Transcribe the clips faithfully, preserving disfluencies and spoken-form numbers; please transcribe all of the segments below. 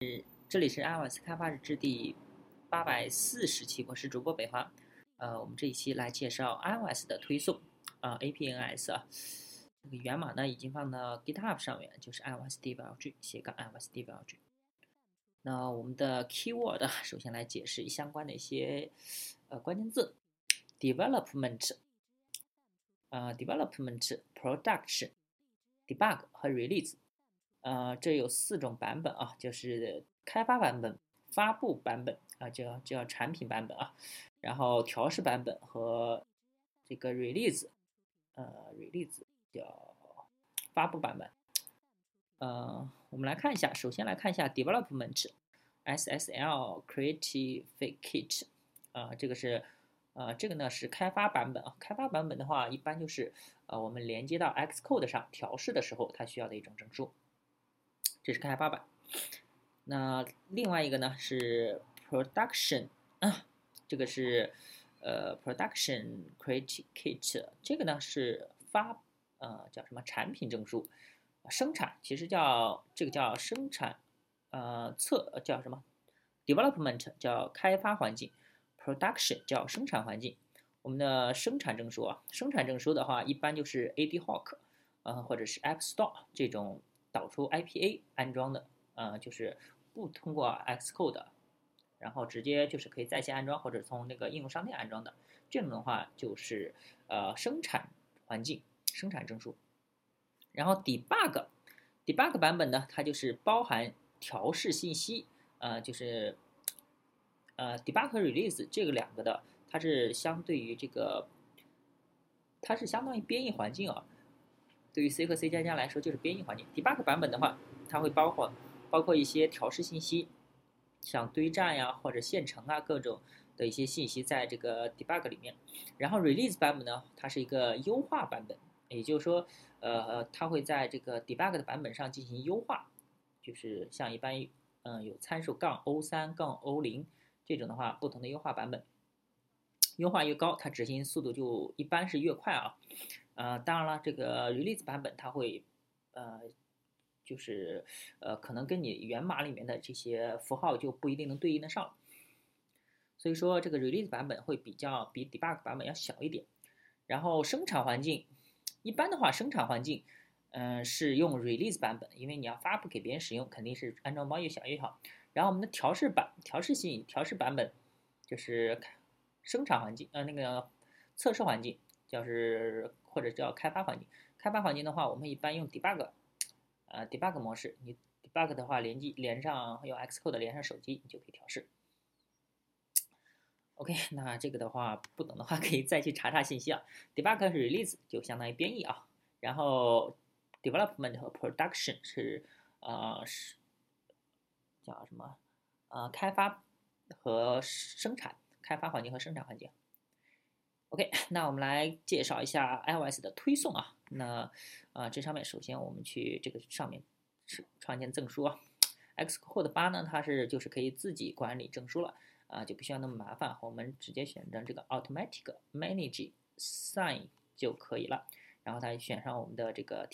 这里是 iOS 开发日志第八百四十期，我是主播北华。呃，我们这一期来介绍 iOS 的推送啊、呃、，A P N S 啊，这个源码呢已经放到 GitHub 上面，就是 iOS dev.lg 斜杠 iOS dev.lg。那我们的 keyword 首先来解释相关的一些呃关键字 ：development 呃 development production debug 和 release。呃，这有四种版本啊，就是开发版本、发布版本啊，叫叫产品版本啊，然后调试版本和这个 release，呃，release 叫发布版本。呃，我们来看一下，首先来看一下 development，S S L Creative Kit，啊、呃，这个是呃，这个呢是开发版本啊，开发版本的话，一般就是呃我们连接到 Xcode 上调试的时候，它需要的一种证书。这是开发版。那另外一个呢是 production 啊，这个是呃 production create kit， 这个呢是发呃叫什么产品证书，生产其实叫这个叫生产呃测叫什么 development 叫开发环境 ，production 叫生产环境。我们的生产证书啊，生产证书的话，一般就是 A D Hoc， 呃或者是 App Store 这种导出 I P A 安装的，呃，就是不通过 Xcode， 然后直接就是可以在线安装或者从那个应用商店安装的，这种的话就是呃生产环境生产证书。然后 debug debug 版本呢，它就是包含调试信息，呃，就是呃 debug 和 release 这个两个的，它是相对于这个，它是相当于编译环境啊。对于 C 和 C 加加来说，就是编译环境。debug 版本的话，它会包括包括一些调试信息，像堆栈呀或者线程啊各种的一些信息在这个 debug 里面。然后 release 版本呢，它是一个优化版本，也就是说，呃，它会在这个 debug 的版本上进行优化，就是像一般嗯、呃、有参数杠 O 三杠 O 零这种的话，不同的优化版本。优化越高，它执行速度就一般是越快啊。呃，当然了，这个 release 版本它会，呃，就是呃，可能跟你源码里面的这些符号就不一定能对应得上，所以说这个 release 版本会比较比 debug 版本要小一点。然后生产环境，一般的话，生产环境，嗯、呃，是用 release 版本，因为你要发布给别人使用，肯定是安装包越小越好。然后我们的调试版、调试性、调试版本，就是生产环境，呃，那个测试环境，就是或者叫开发环境。开发环境的话，我们一般用 debug， 呃，debug 模式。你 debug 的话，连接连上用 Xcode 连上手机，你就可以调试。OK，那这个的话不懂的话可以再去查查信息啊。debug 和 release 就相当于编译啊，然后 development 和 production 是呃是叫什么？呃，开发和生产，开发环境和生产环境。OK，那我们来介绍一下 iOS 的推送啊。那呃，这上面首先我们去这个上面是创建证书啊。Xcode 八呢，它是就是可以自己管理证书了啊，就不需要那么麻烦。我们直接选择这个 Automatic Manage Sign 就可以了。然后再选上我们的这个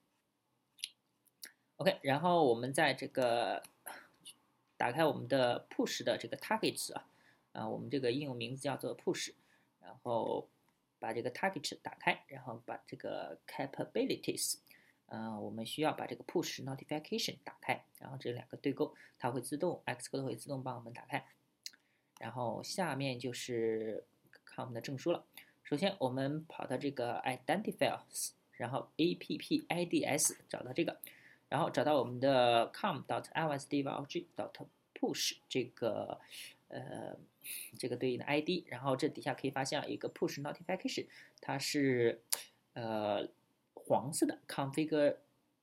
Team。OK，然后我们在这个打开我们的 Push 的这个 Targets 啊，啊，我们这个应用名字叫做 Push。然后把这个 target 打开，然后把这个 capabilities，呃，我们需要把这个 push notification 打开，然后这两个对勾，它会自动 Xcode 会自动帮我们打开。然后下面就是看我们的证书了。首先我们跑到这个 identifiers， 然后 appids 找到这个，然后找到我们的 com.iosdev.lg.push 这个呃这个对应的 I D， 然后这底下可以发现一个 push notification， 它是呃黄色的 configurable，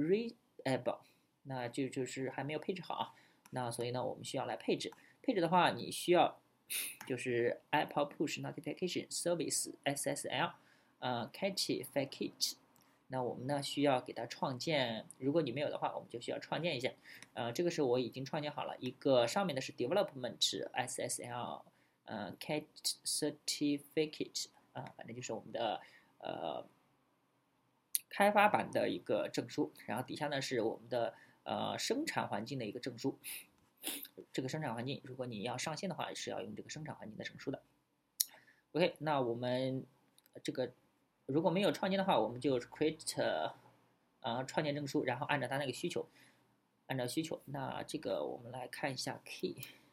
那就就是还没有配置好啊。那所以呢，我们需要来配置。配置的话，你需要就是 Apple Push Notification Service S S L， 呃 Catchy Fakit。那我们呢需要给它创建，如果你没有的话，我们就需要创建一下。呃，这个是我已经创建好了一个，上面的是 Development S S L， 呃 Cat Certificate 啊、呃，反正就是我们的呃开发版的一个证书。然后底下呢是我们的呃生产环境的一个证书。 这个生产环境，如果你要上线的话，是要用这个生产环境的证书的。OK，那我们这个如果没有创建的话，我们就 create 啊、呃、创建证书，然后按照它那个需求，按照需求，那这个我们来看一下 key，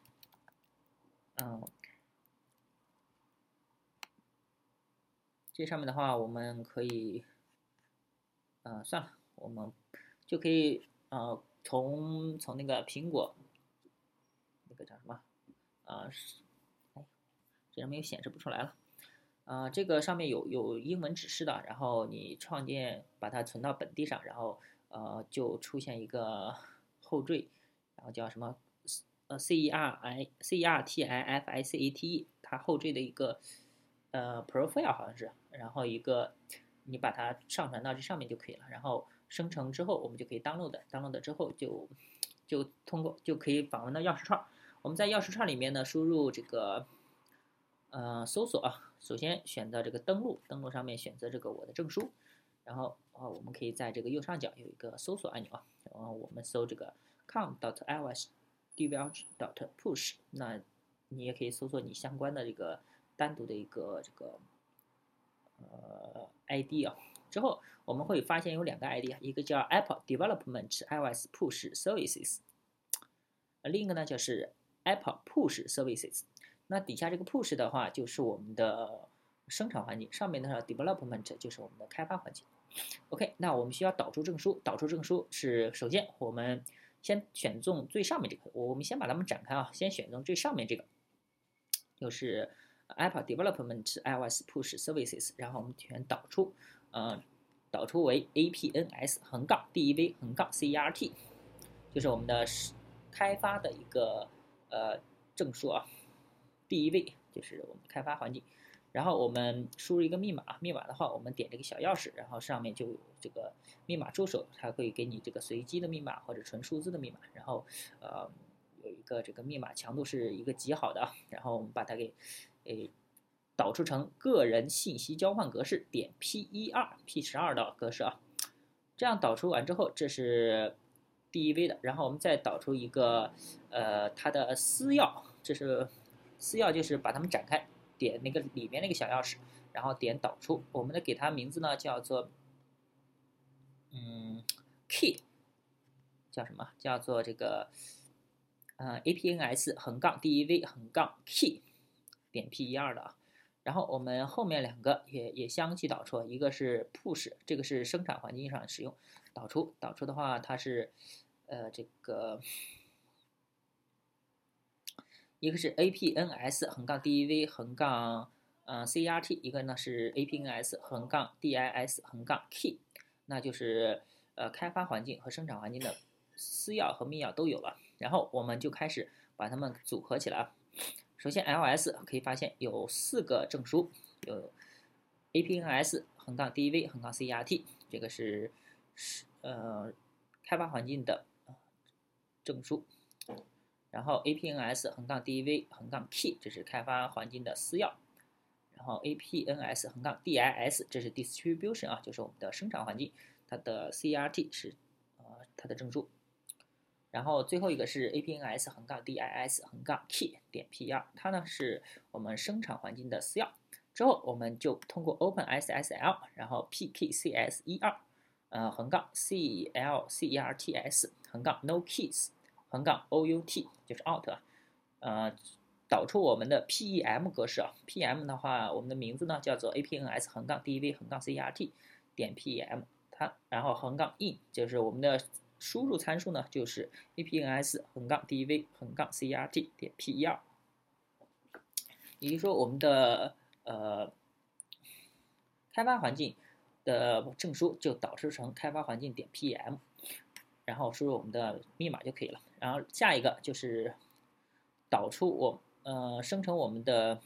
嗯，这上面的话我们可以，呃，算了，我们就可以呃从从那个苹果那个叫什么啊、呃，哎，这上面又显示不出来了。啊、呃，这个上面有有英文指示的，然后你创建把它存到本地上，然后呃就出现一个后缀，然后叫什么呃 C E R I C E R T I F I C A T E， 它后缀的一个呃 profile 好像是，然后一个你把它上传到这上面就可以了，然后生成之后我们就可以 download，download 之后就就通过就可以访问到钥匙串，我们在钥匙串里面呢输入这个。呃，搜索啊，首先选择这个登录，登录上面选择这个我的证书，然后啊，我们可以在这个右上角有一个搜索按钮啊，然后我们搜这个 com.ios.develop.push， 那你也可以搜索你相关的这个单独的一个这个呃 I D 啊，之后我们会发现有两个 I D 啊，一个叫 Apple Development iOS Push Services， 另一个呢就是 Apple Push Services。那底下这个 push 的话，就是我们的生产环境，上面的 development 就是我们的开发环境。OK， 那我们需要导出证书，导出证书是首先我们先选中最上面这个，我们先把它们展开啊，先选中最上面这个，就是 Apple Development iOS Push Services， 然后我们选导出，呃，导出为 A P N S 横杠 D E V 横杠 C E R T， 就是我们的开发的一个呃证书啊。第一位就是我们开发环境，然后我们输入一个密码，密码的话我们点这个小钥匙，然后上面就有这个密码助手，它会给你这个随机的密码或者纯数字的密码，然后呃有一个这个密码强度是一个极好的，然后我们把它给诶导出成个人信息交换格式点 P 一二 P 十二的格式啊，这样导出完之后，这是第一位的，然后我们再导出一个呃它的私钥，这是。私钥就是把它们展开，点那个里面那个小钥匙，然后点导出。我们的给它名字呢叫做嗯 key， 叫什么？叫做这个呃 A P N S 横杠 D E V 横杠 key 点 P 一二的啊。然后我们后面两个也也相继导出，一个是 push， 这个是生产环境上使用导出，导出的话它是呃这个。一个是 A P N S 横杠 D E V 横杠呃 C E R T， 一个呢是 A P N S 横杠 D I S 横杠 key， 那就是呃开发环境和生产环境的私钥和密钥都有了，然后我们就开始把它们组合起来。首先 L S 可以发现有四个证书，有 A P N S 横杠 D E V 横杠 C E R T， 这个是呃开发环境的证书。然后 A P N S 横杠 D E V 横杠 key 这是开发环境的私钥，然后 A P N S 横杠 D I S 这是 distribution 啊，就是我们的生产环境，它的 C E R T 是呃它的证书，然后最后一个是 A P N S 横杠 D I S 横杠 key 点 P 二，它呢是我们生产环境的私钥。之后我们就通过 Open S S L， 然后 P K C S 一二呃横杠 C L C E R T S 横杠 No Keys。横杠 O U T 就是 out， 呃，导出我们的 P E M 格式啊。P M 的话，我们的名字呢叫做 A P N S 横杠 D E V 横杠 C E R T 点 P E M， 它然后横杠 in 就是我们的输入参数呢就是 A P N S 横杠 D E V 横杠 C E R T 点 P 一二，也就是说我们的呃开发环境的证书就导出成开发环境点 P E M。然后输入我们的密码就可以了。然后下一个就是导出我呃生成我们的，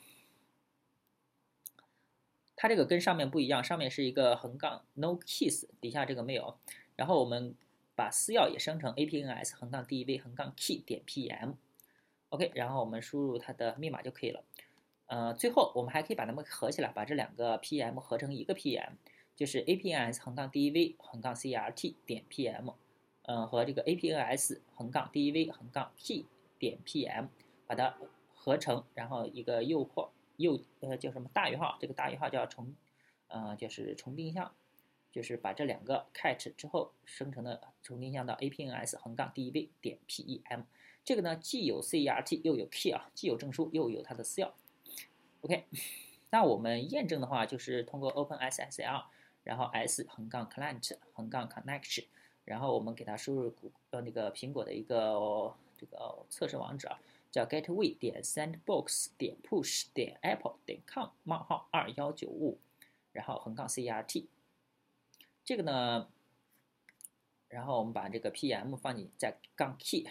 它这个跟上面不一样，上面是一个横杠 no keys， 底下这个没有。然后我们把私钥也生成 A P N S 横杠 D E V 横杠 key 点 P M。OK， 然后我们输入它的密码就可以了。呃，最后我们还可以把它们合起来，把这两个 P M 合成一个 P M， 就是 A P N S 横杠 D E V 横杠 C E R T 点 P M。呃，和这个 A P N S 横杠 D E V 横杠 key 点 P M， 把它合成，然后一个右括右呃叫什么大于号，这个大于号叫重呃就是重定向，就是把这两个 catch 之后生成的重定向到 A P N S 横杠 D E V 点 P E M。这个呢既有 C E R T 又有 key 啊，既有证书又有它的私钥。OK， 那我们验证的话就是通过 OpenSSL， 然后 s 横杠 client 横杠 connection， 然后我们给它输入呃那个苹果的一个这个测试网址啊，叫 gateway 点 sandbox 点 push 点 apple 点 com 冒号二幺九五，然后横杠 C E R T。这个呢，然后我们把这个 P M 放进在杠 key。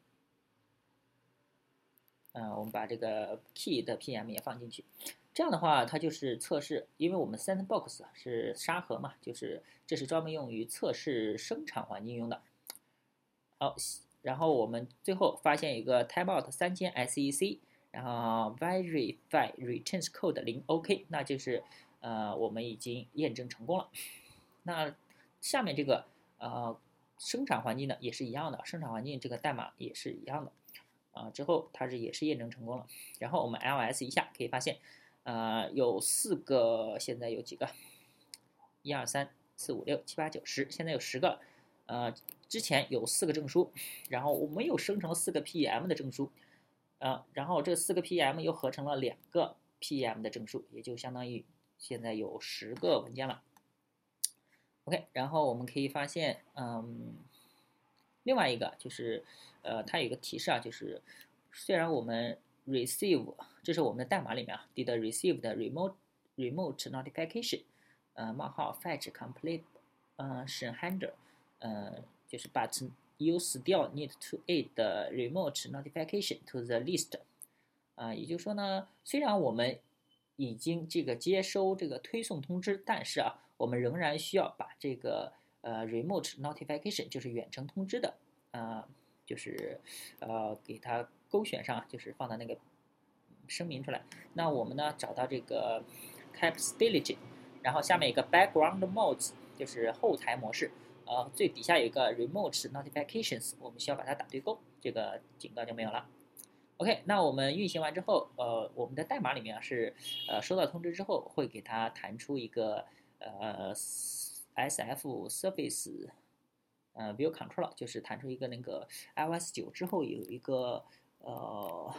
嗯、呃，我们把这个 key 的 P M 也放进去，这样的话，它就是测试，因为我们 sandbox 是沙盒嘛，就是这是专门用于测试生产环境用的。好，然后我们最后发现一个 timeout 三千 S E C， 然后 verify returns code 零 OK， 那就是呃我们已经验证成功了。那下面这个呃生产环境呢也是一样的，生产环境这个代码也是一样的。啊，之后它是也是验证成功了。然后我们 L S 一下可以发现，呃，有四个，现在有几个？一二三四五六七八九十，现在有十个。呃，之前有四个证书，然后我们又生成了四个 P M 的证书，呃，然后这四个 P M 又合成了两个 P M 的证书，也就相当于现在有十个文件了。OK， 然后我们可以发现，嗯。另外一个就是，呃，它有一个提示啊，就是虽然我们 receive 这是我们的代码里面啊 did receive 的 remote remote notification， 呃冒号 fetch complete 呃 handler， 呃就是 but you still need to add the remote notification to the list， 啊、呃，也就是说呢，虽然我们已经这个接收这个推送通知，但是啊，我们仍然需要把这个呃 remote notification 就是远程通知的，呃，就是呃给它勾选上，就是放到那个声明出来。那我们呢找到这个 capability， 然后下面一个 background modes 就是后台模式，呃最底下有一个 remote notifications， 我们需要把它打对勾，这个警告就没有了。OK， 那我们运行完之后，呃，我们的代码里面啊是，呃，收到通知之后会给它弹出一个呃 S F Service， 呃 View Control， 就是弹出一个那个 iOS 九之后有一个呃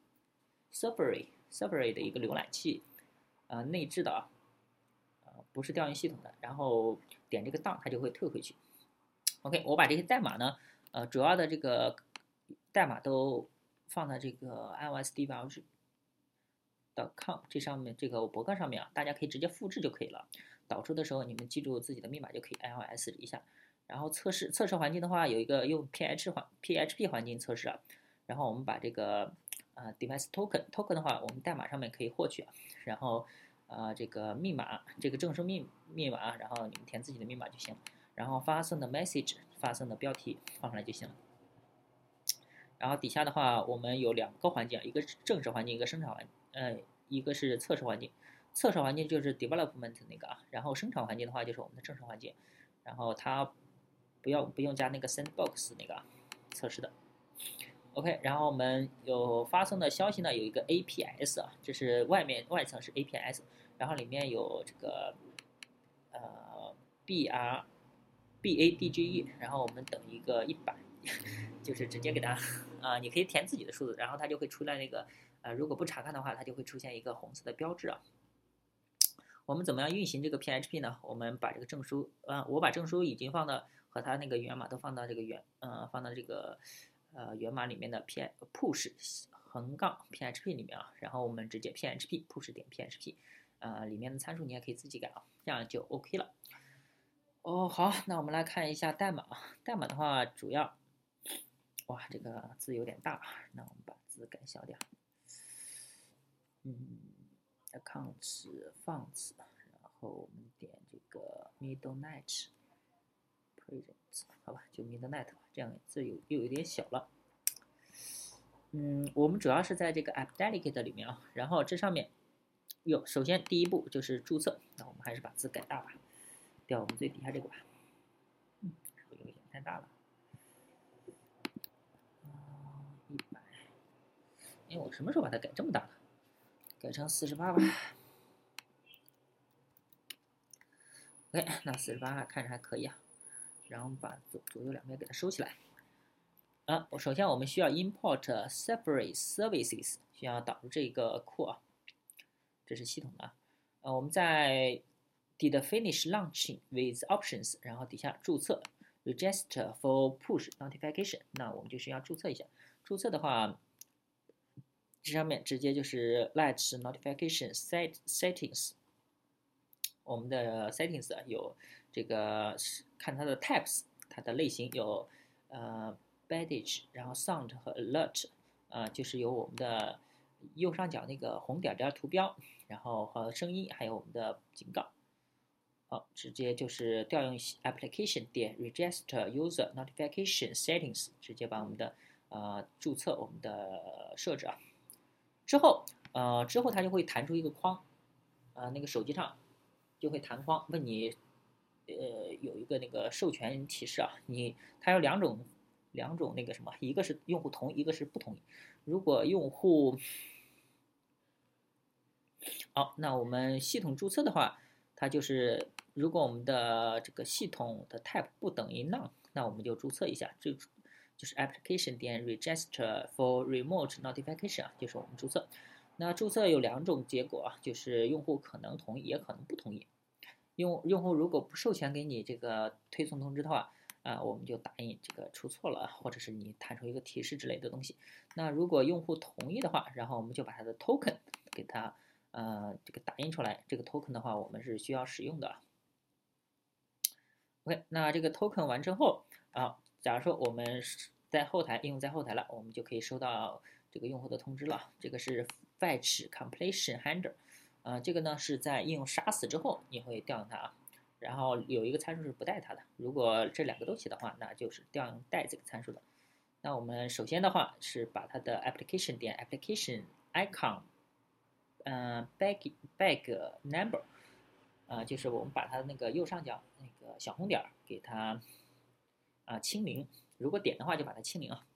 Safari Safari 的一个浏览器，呃内置的啊，呃不是调用系统的，然后点这个 down 它就会退回去。OK， 我把这些代码呢，呃主要的这个代码都放在这个 iOS debug .com 这上面，这个博客上面啊，大家可以直接复制就可以了。导出的时候你们记住自己的密码就可以 iOS 一下。然后测试测试环境的话，有一个用 P H 环 P H P 环境测试啊。然后我们把这个呃 device token token 的话，我们代码上面可以获取啊。然后呃这个密码这个证书密密码，然后你们填自己的密码就行了。然后发送的 message 发送的标题放上来就行了。然后底下的话，我们有两个环境，一个是正式环境，一个生产环，呃，一个是测试环境。测试环境就是 development 那个啊，然后生产环境的话就是我们的正式环境。然后它不要不用加那个 sandbox 那个测试的。OK， 然后我们有发送的消息呢，有一个 A P S 啊，这是外面外层是 A P S， 然后里面有这个呃 B R B A D G E， 然后我们等一个一百。就是直接给它啊、呃，你可以填自己的数字，然后它就会出来那个呃，如果不查看的话，它就会出现一个红色的标志啊。我们怎么样运行这个 P H P 呢？我们把这个证书，呃，我把证书已经放到和它那个源码都放到这个源，呃，放到这个呃源码里面的 P push 横杠 P H P 里面啊，然后我们直接 P H P push 点 P H P， 呃，里面的参数你也可以自己改啊，这样就 OK 了。哦，好，那我们来看一下代码，代码的话主要。哇，这个字有点大，那我们把字改小点。嗯 ，accounts fonts， 然后我们点这个 midnight present， 好吧，就 midnight， 这样字有又有点小了。嗯，我们主要是在这个 app delegate 里面啊，然后这上面有，首先第一步就是注册，那我们还是把字改大吧，调我们最底下这个吧。嗯，是不是有点太大了？一百哎，我什么时候把它改这么大的？改成四十八吧。OK， 那四十八看着还可以啊。然后把左左右两边给它收起来。啊，首先我们需要 import separate services， 需要导入这个库啊，这是系统的啊。呃，我们在 did finish launching with options， 然后底下注册 register for push notification， 那我们就需要注册一下。注册的话，这上面直接就是 let notification set settings， 我们的 settings 有这个看它的 types， 它的类型有呃 badge， 然后 sound 和 alert， 呃就是有我们的右上角那个红点点图标，然后和声音，还有我们的警告。好，直接就是调用 application 点 register user notification settings， 直接把我们的呃注册我们的设置啊。之后呃之后它就会弹出一个框，呃那个手机上就会弹框，问你呃有一个那个授权提示啊，你它有两种两种那个什么，一个是用户同意，一个是不同意。如果用户好，那我们系统注册的话，它就是如果我们的这个系统的 type 不等于 none， 那我们就注册一下，这就是 application 点 register for remote notification 啊，就是我们注册。那注册有两种结果啊，就是用户可能同意，也可能不同意。用用户如果不授权给你这个推送通知的话，啊，我们就打印这个出错了，或者是你弹出一个提示之类的东西。那如果用户同意的话，然后我们就把它的 token 给它呃这个打印出来。这个 token 的话，我们是需要使用的。OK， 那这个 token 完成后啊，假如说我们在后台应用在后台了，我们就可以收到这个用户的通知了。这个是 fetch completion handler， 呃，这个呢是在应用杀死之后你会调用它啊。然后有一个参数是不带它的，如果这两个都写的话，那就是调用带这个参数的。那我们首先的话是把它的 application 点 application icon， 呃 bag bag number， 呃，就是我们把它的那个右上角那个小红点给它啊、呃、清零，如果点的话就把它清零啊。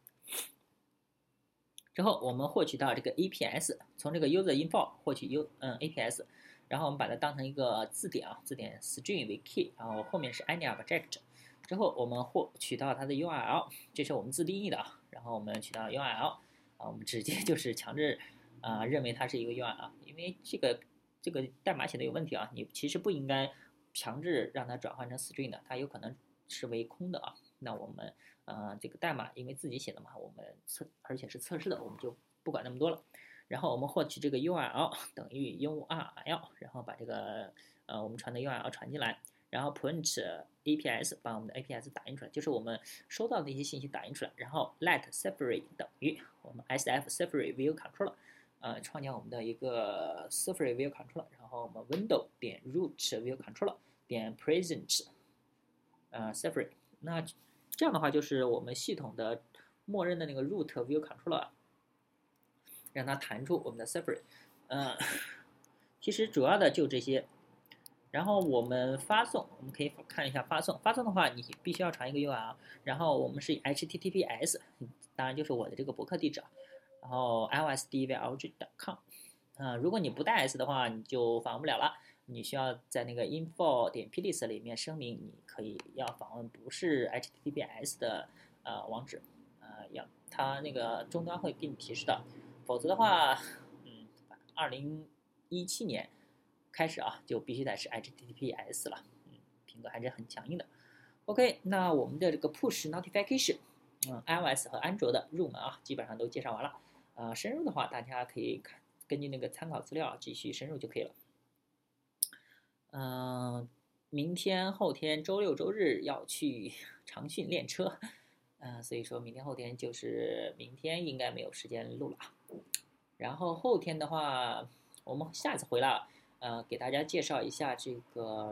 之后我们获取到这个 A P S， 从这个 user info 获取 U 嗯 A P S， 然后我们把它当成一个字典啊，字典 string 为 key， 然后后面是 any object。之后我们获取到它的 U R L， 这是我们自定义的啊。然后我们取到 U R L 啊，我们直接就是强制啊、呃、认为它是一个 U R L， 因为这个这个代码写的有问题啊，你其实不应该强制让它转换成 string 的，它有可能是为空的啊。那我们呃这个代码因为自己写的嘛，我们测而且是测试的，我们就不管那么多了。然后我们获取这个 U R L 等于 U R L， 然后把这个呃我们传的 U R L 传进来，然后 print A P S 把我们的 A P S 打印出来，就是我们收到的一些信息打印出来，然后 let separate 等于我们 S F separate view controller， 呃创建我们的一个 separate view controller， 然后我们 window 点 root view controller 点 present 呃 separate， 那这样的话就是我们系统的默认的那个 root view controller， 让它弹出我们的 separate， 呃，其实主要的就这些。然后我们发送，我们可以看一下发送。发送的话，你必须要传一个 U R L， 然后我们是 H T T P S， 当然就是我的这个博客地址啊，然后 l s d v l g 点 com。啊、呃，如果你不带 S 的话，你就访问不了了。你需要在那个 info 点 plist 里面声明，你可以要访问不是 H T T P S 的呃网址，呃，要它那个终端会给你提示的。否则的话，嗯，二零一七年。开始啊，就必须得是 H T T P S 了，嗯，苹果还是很强硬的。OK， 那我们的这个 Push Notification， 嗯 ，iOS 和安卓的入门啊，基本上都介绍完了。呃，深入的话，大家可以看根据那个参考资料继续深入就可以了。嗯、呃，明天、后天、周六、周日要去长训练车，嗯、呃，所以说明天、后天就是明天应该没有时间录了。然后后天的话，我们下次回来。呃，给大家介绍一下这个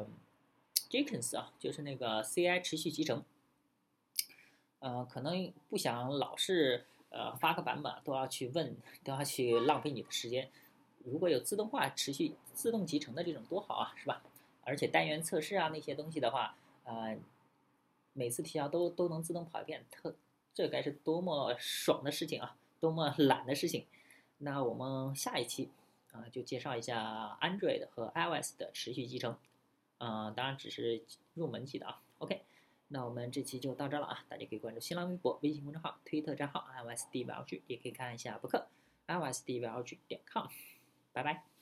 Jenkins 啊，就是那个 C I 持续集成。呃，可能不想老是呃发个版本都要去问，都要去浪费你的时间。如果有自动化持续自动集成的这种多好啊，是吧？而且单元测试啊那些东西的话，呃，每次提交都都能自动跑一遍，特这该是多么爽的事情啊，多么懒的事情。 那我们下一期啊、呃就介绍一下 Android 和 iOS 的持续集成，啊、呃，当然只是入门级的啊。OK，那我们这期就到这了啊，大家可以关注新浪微博、微信公众号、推特账号 iOS D V L G，也可以看一下博客 iOS D V L G 点 com，拜拜。